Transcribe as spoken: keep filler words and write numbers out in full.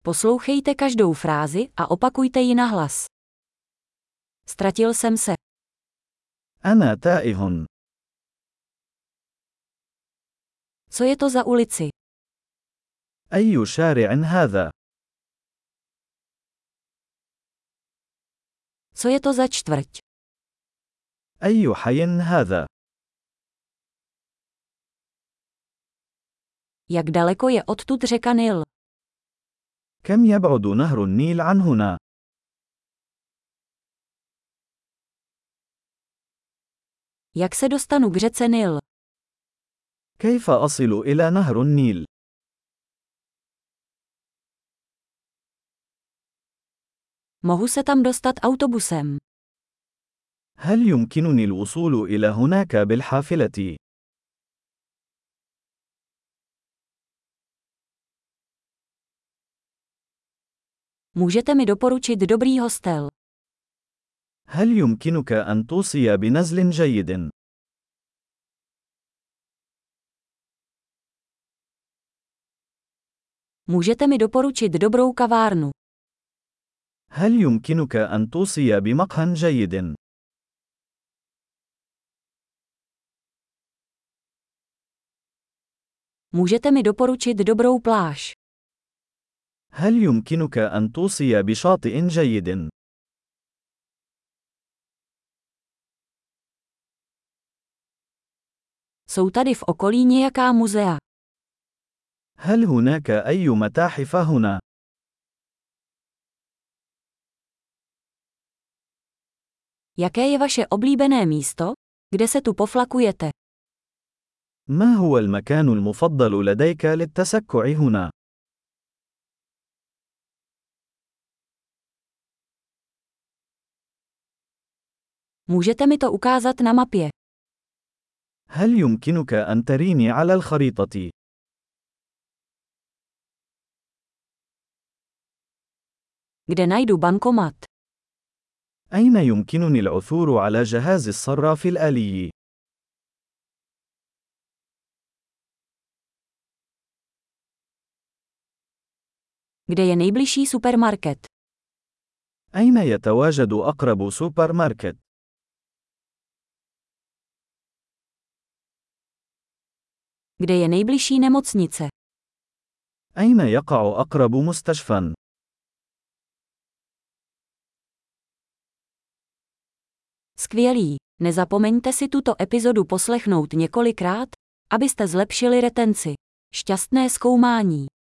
Poslouchejte každou frázi a opakujte ji nahlas. Ztratil jsem se. أنا تائه. Co je to za ulici? أي شارع هذا؟ Co je to za čtvrť? أي حي هذا؟ Jak daleko je odtud řeka Nil? كم يبعد نهر النيل عن هنا؟ Jak se dostanu k řece Nil? كيف أصل إلى نهر النيل؟ Mohu se tam dostat autobusem. هل يمكنني الوصول إلى هناك بالحافلة؟ Můžete mi doporučit dobrý hostel? هل يمكنك أن توصي بنزل جيد؟ Můžete mi doporučit dobrou kavárnu? هل يمكنك أن توصي بمقهى جيد؟ Můžete mi doporučit dobrou pláž? هل يمكنك أن توصي بشاطئ جيد؟ Jsou tady v okolí nějaká muzea? هل هناك أي متاحف هنا؟ Jaké je vaše oblíbené místo, kde se tu poflakujete? ما هو المكان المفضل لديك للتسكع هنا؟ Můžete mi to ukázat na mapě? هل يمكنك أن تريني على الخريطة؟ Kde najdu bankomat? أين يمكنني العثور على جهاز الصراف الآلي؟ Kde je nejbližší supermarket? أين يتواجد أقرب سوبر ماركت؟ Kde je nejbližší nemocnice? أين يقع أقرب مستشفى؟ Skvělý! Nezapomeňte si tuto epizodu poslechnout několikrát, abyste zlepšili retenci. Šťastné zkoumání!